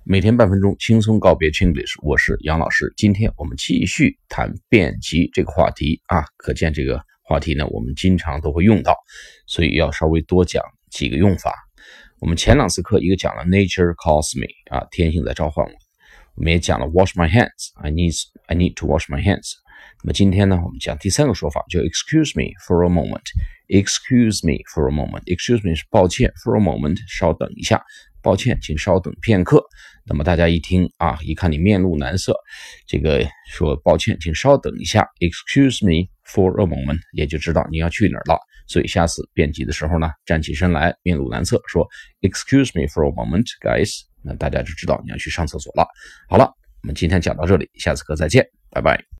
每天半分钟轻松告别 Chinglish， 我是杨老师。今天我们继续谈辩集这个话题啊，可见这个话题呢，我们经常都会用到，所以要稍微多讲几个用法。我们前两次课一个讲了 Nature calls me 啊，天性在召唤我。我们也讲了 wash my hands， I need to wash my hands。那么今天呢，我们讲第三个说法，就 excuse me for a moment。excuse me for a moment。excuse me 是抱歉 for a moment 稍等一下，抱歉，请稍等片刻。那么大家一听啊，一看你面露难色，这个说抱歉，请稍等一下 excuse me for a moment， 也就知道你要去哪儿了。所以下次辩集的时候呢，站起身来，面露难色，说 excuse me for a moment guys， 那大家就知道你要去上厕所了。好了，我们今天讲到这里，下次课再见，拜拜。